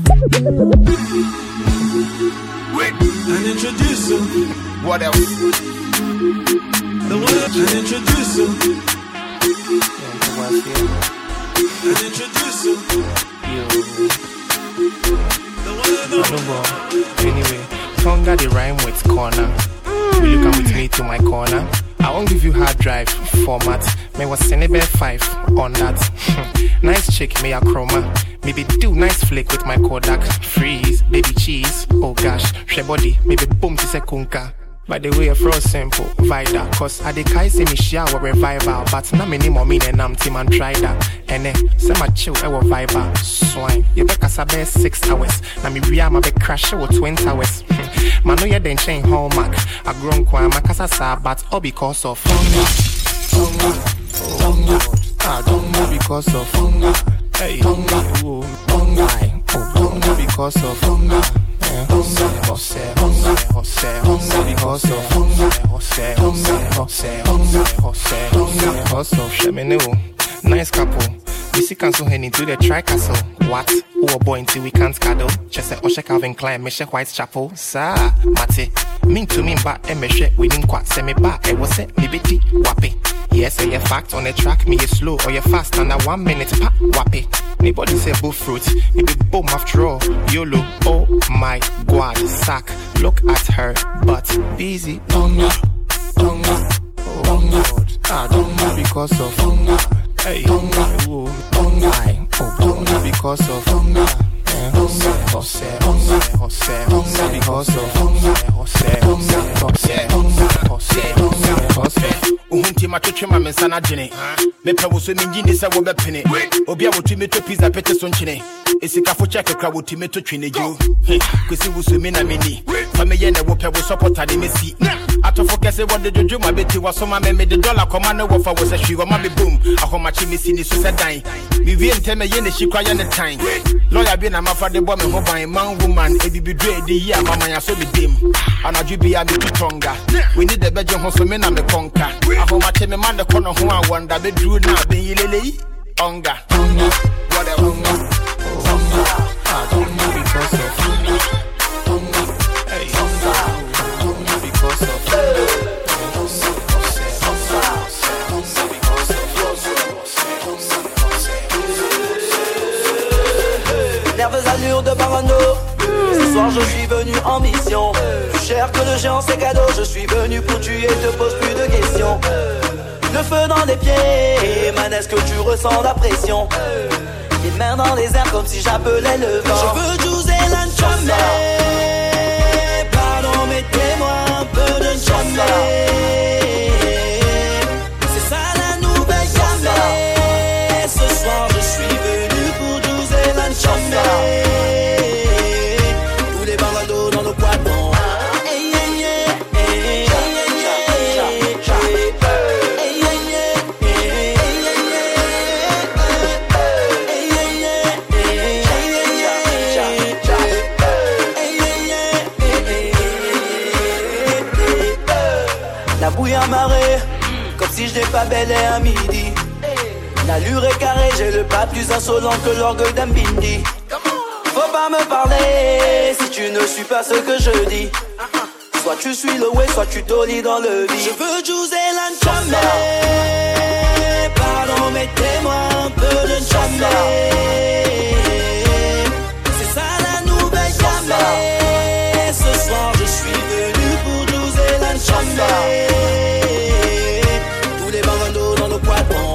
Wait, and introduce you. What else? The one and introduce you. And introduce you. Anyway, Tonga the rhyme with corner. Will you come with me to my corner? I won't give you hard drive format. May was Senebe 5 on that. Nice chick, may a chroma. Maybe do nice flick with my Kodak. Freeze, baby cheese. Oh gosh, she body. Maybe boom to sekunka. By the way, fro simple, vida. Cause I de kai say me shower revival. But na many more mean and I'm team and try that. And say my chill, I will vibe. Swine, you better sabe 6 hours. Na me ria ma be crash with 20 hours. Man, no, you didn't change hallmark. I grown quite my casa, but all because of Tonga. I don't know because of Tonga. Hey, Tonga. Oh, because of Tonga. Because of Shemino. Nice couple. We see cancel hen into the tri-castle. What? Oh boy until we can't cuddle. Just say Osha Calvin Klein, Mesha Whitechapel. Sa, Mate. Mean to me, but Mesha winning quite semi back. I was it, me bitty, wappy. Yes, say a fact on the track, me is slow or you fast under 1 minute, pop, wappy. Anybody say bull fruit, it be boom after all. YOLO, oh my god, sack. Look at her, but busy. Tonga, Tonga, Tonga. I don't know because of Tonga. Hey, Tonga, oh, Tonga because of Tonga. Uhunti matwetwe ma mensana gene mepa wo so mingi ni se wo bepene obi a wotumi to pizza pete so nchene esikafo check kra wotumi to twene ju kwesi wo so me na meni fa me ye na wo pe wo supporter de mesi atofo kese wo de jojo ma beti wo so ma me de dollar koma na wo fa wo se hwi wo ma be boom ahoma chi mesi ni so se dan mi wie nteme ye na hikwa ye ne tan lawyer bi na mafa de bo me ho ban man woman ebibi do edi yi amama ya so be dem anaju bi ya me Tonga we need the beje ho so me na me konka ahoma che me man de kono ho a wonder be dru na be yilele Tonga what a Tonga I don't know because of Tonga hey Tonga because of Nerveuse allure de parano. Ce soir je suis venu en mission. Plus cher que le géant c'est cadeau. Je suis venu pour tuer, te pose plus de questions. Le feu dans les pieds, man est-ce que tu ressens la pression? Les mains dans les airs comme si j'appelais le vent. Je veux jouer l'enchambé. Pardon mettez-moi un peu de chambé. C'est ça la nouvelle jamais. Ce soir je suis venu pour jouer l'enchambé. Tous les bandados dans nos quadrants. si je n'ai pas belle à midi. L'allure est carrée, j'ai le pas plus insolent que l'orgueil d'un bindi. Faut pas me parler si tu ne suis pas ce que je dis. Soit tu suis le way, soit tu dolly dans le vide. Je veux José l'enchamé. Pardon, mettez-moi un peu de chamé. C'est ça la nouvelle jamais. Ce soir je suis venu pour José l'enchamé. Tous les bandos dans nos quadrants.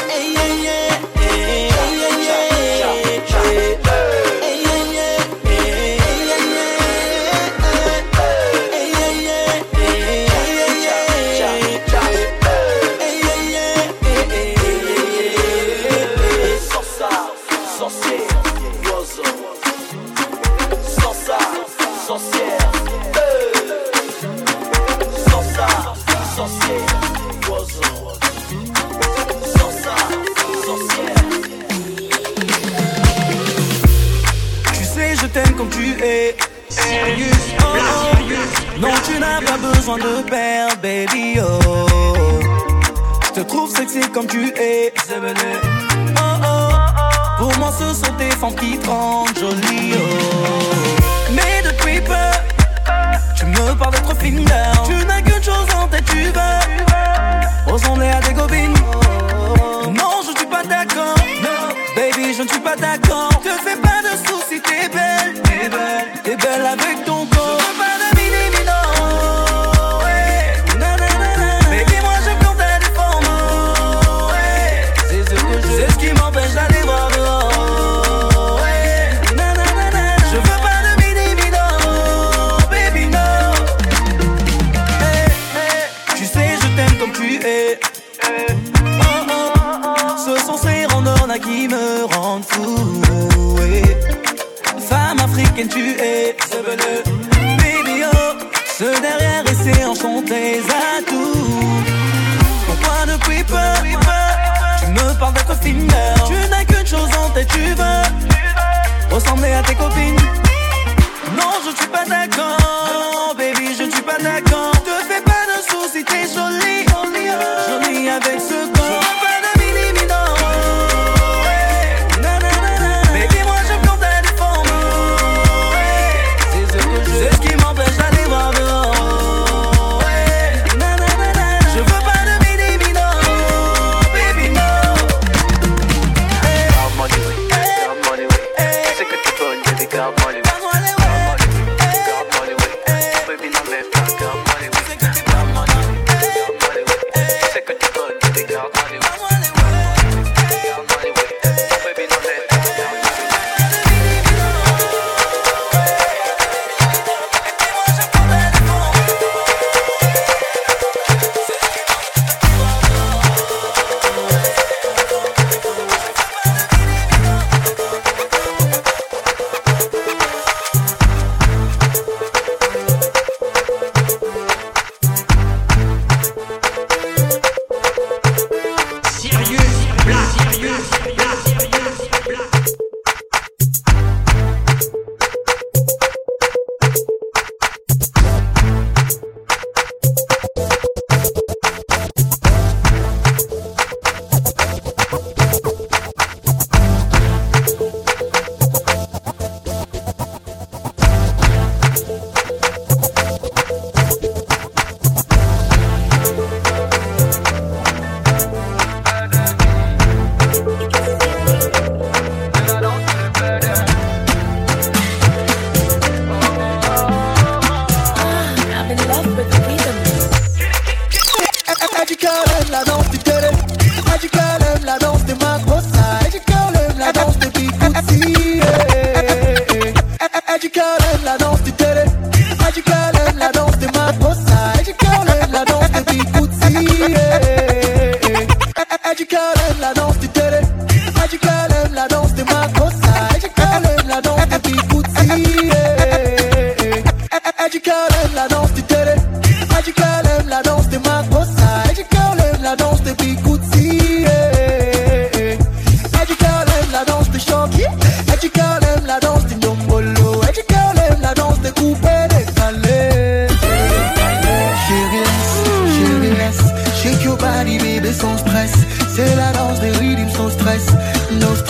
Comme tu es sérieux, oh, non tu n'as pas besoin de perdre, baby, oh. Je te trouve sexy comme tu es, oh, oh. Pour moi ce sont tes formes qui te rendent jolie, oh. Mais depuis peu, tu me parles d'être fine girl. Tu n'as qu'une chose en tête, tu veux ressembler à des copines. Non, je ne suis pas d'accord, baby, je ne suis pas d'accord. Te fais pas de soucis, t'es belle. T'es belle avec ton corps. Je veux pas de mini-mino, ouais. Nanana. Baby, moi je compte à des formes, ouais. C'est ce que je... C'est ce qui m'empêche d'aller voir dehors, ouais. Nanana. Je veux pas de mini-mino, baby, no. Hey, hey. Tu sais, je t'aime comme tu es. Oh, oh. Ce sont ces randonnées qui me rendent fou, ouais. Femme africaine tu es, baby oh. Ce derrière et c'est enchanté tes atouts. Pourquoi depuis peu tu me parles d'être fine girl. Tu n'as qu'une chose en tête, tu veux ressembler à tes copines. Non je ne suis pas d'accord, baby je ne suis pas d'accord. Te fais pas de soucis, t'es jolie, jolie avec ce corps.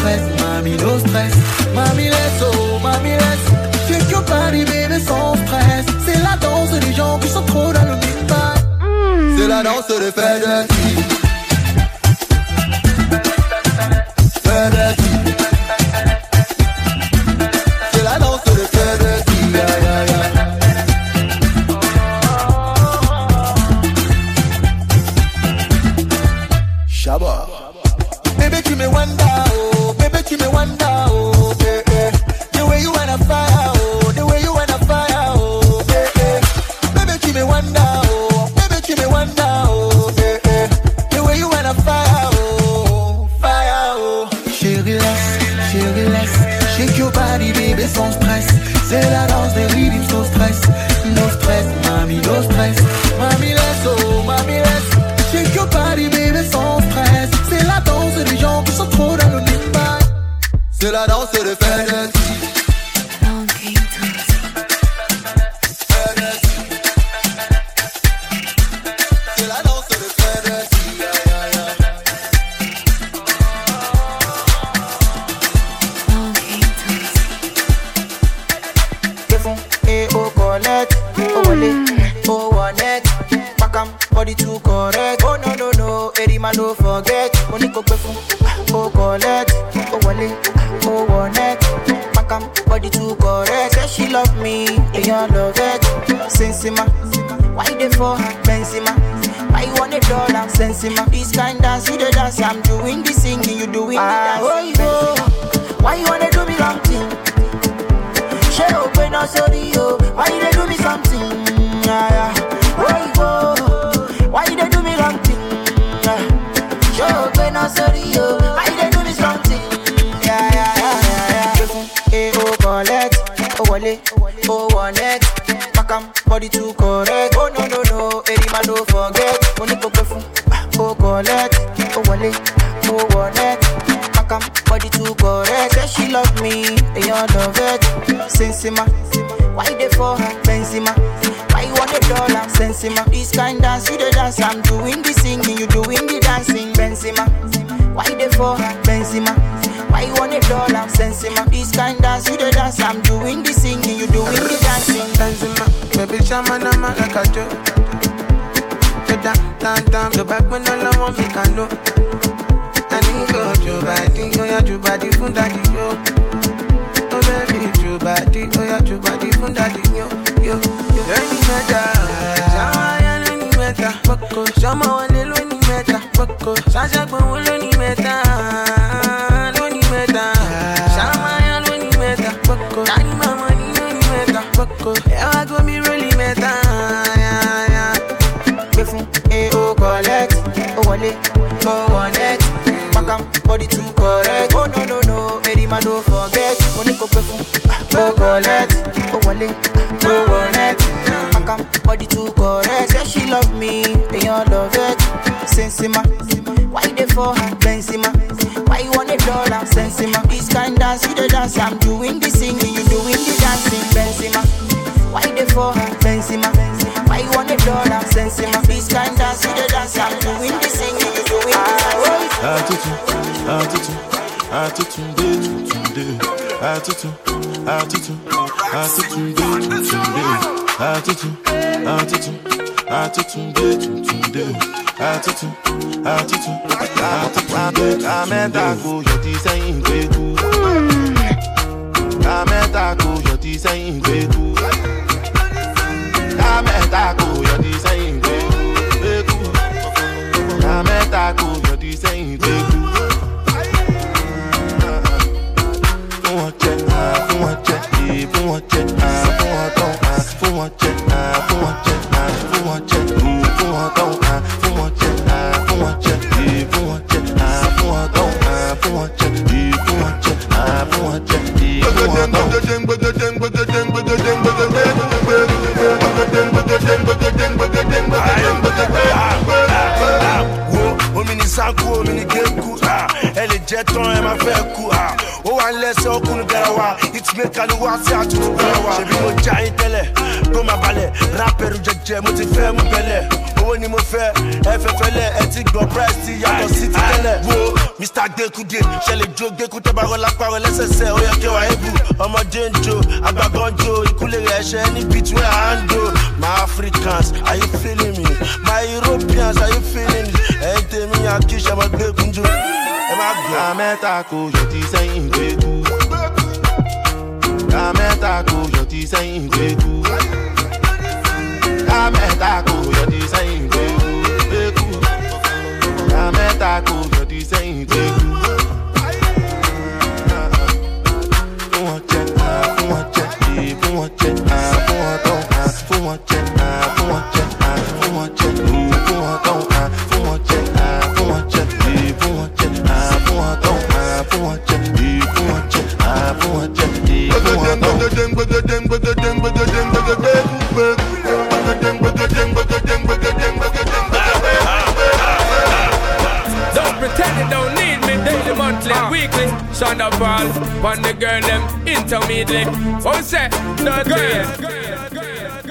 stress, mami, no stress. Mami, laisse, oh, mami, laisse. Shake your body, baby, sans stress. C'est la danse des gens qui sont trop dans le mid-bag. C'est la danse des FedEx. FedEx. C'est la danse des FedEx. Shabba. Baby, give me wonder, oh. Baby, give me wonder, oh. Yeah, yeah. The way you wanna fire, oh. The way you wanna fire, oh. Yeah, yeah. Baby, give me wonder, oh. Baby, give me wonder, oh. Yeah, yeah. The way you wanna fire, oh. Fire, oh. Chérie, laisse. Shake your body, baby, sans stress. C'est la danse des rythmes, no stress. No stress, mami, no stress. Mami, laisse, oh. Mami, laisse. Shake your body, baby, sans stress. C'est la danse des gens qui sont trop dans le mid-bag. C'est la danse des FedEx. C'est la danse des FedEx. Devon et au collect, au wallet, au one-net. Pakam, body too correct. Oh no no no, Erima no forget. Moniko Befon, au collect, au wallet, au one-net. Pakam, body too correct. Say she love me, and you love it. Sensima, why they for Benzema? Why you want $1? Sensima, this kind dance, you the dance. I'm doing the singing, you doing the dance. Oh, why you wanna do me wrong thing? She open up sorry, yo. Why you they do me something? Yeah. Why you they do me wrong thing? She open up sorry, yo. Why you they do me something? Yeah. Eh, oh, collect, oh, wallet, oh, one-net. Pakam, body too correct. Oh, no, Erima no forget. Moniko Befon, oh, collect, oh, wallet, oh, one-net. Pakam, body too correct. Say she love me, and you love it. Sensima, why they for Benzema? Why you want $1? Sensima, this kind dance, you the dance. I'm doing the singing, you doing the dancing. Benzema, why they for Benzema? Why you want $1? Sensima, this kind dance, you the dance. I'm doing the singing, you doing the dancing. Benzema, baby, chama like a joke. Down, go back when all I want me can know. I think go your body, go your body, fun daddy, yo. Oh baby, your body, go your body, fun daddy, yo. Any matter, any matter, Boko, Shama one any matter, Boko, Sasha one any matter, any matter, Shama any matter, Boko, Daddy mama any matter, Boko, I go me really matter, yeah. Befon, eh, oh, collect, oh, wallet, oh, one-net. Pakam, body too correct. Oh, no, Erima no forget. Moniko Befon, oh, collect, oh, wallet, oh, one-net. Pakam, body too correct. Say she love me, and you love it. Sensima, why they for Benzema? Why you want $1? Sensima, this kind dance, you the dance. I'm doing the singing, you doing the dancing. Benzema, why they for Benzema? Why you want $1? Sensima, this kind dance, you the dance. I'm doing the singing, you doing the dancing. Elle est jet on elle m'a fait coup. Oh I laisse au coup de la wa. It's me can watch ça tout le wa. J'ai vu mon jaï télé, comme ma balai. Rapper ou j'ai mon fait mon belé. owó ni mo fẹ́ ẹ fẹ́ fẹ́lẹ̀ ẹ ti gbọ́ price ti yàtọ̀ sí ti tẹ́lẹ̀. Wo Mr. Gbekude ṣẹlẹ̀ jó gbẹ́kú tó bá rọlá parọ́ lẹ́sẹsẹ ó yẹ kí wàá ebù ọmọdé ń jó àgbàgbọ́n jó ìkúlẹ̀ rẹ̀ ṣẹ́ ní beat where I handle. My Africans, are you feeling me? My Europeans, are you feeling me? Ẹ̀yin tèmi àkíṣe ọmọ gbẹ́kún jó ẹ má gbọ́. Àmẹ́ta kò yọ ti sẹ́yìn gbẹ́kú. Àmẹ́ta kò yọ ti sẹ́yìn gbẹ́kú. Àmẹ́ta kò yọ ti sẹ́yìn gbẹ́kú. Àmẹ́ta kò yọ ti sẹ́yìn gbẹ́kú. Fún wọn jẹ, fún wọn jẹ, fún wọn jẹ, fún wọn tán, fún wọn jẹ, fún wọn jẹ, fún wọn jẹ, fún wọn tán, fún wọn jẹ, fún wọn jẹ, fún wọn jẹ, fún wọn tán, fún wọn jẹ, fún wọn jẹ, fún wọn jẹ, fún wọn Don't pretend you don't need me. Daily, monthly, weekly. Shonda Paul, on the girl them intermediately. Oh, say, no girl.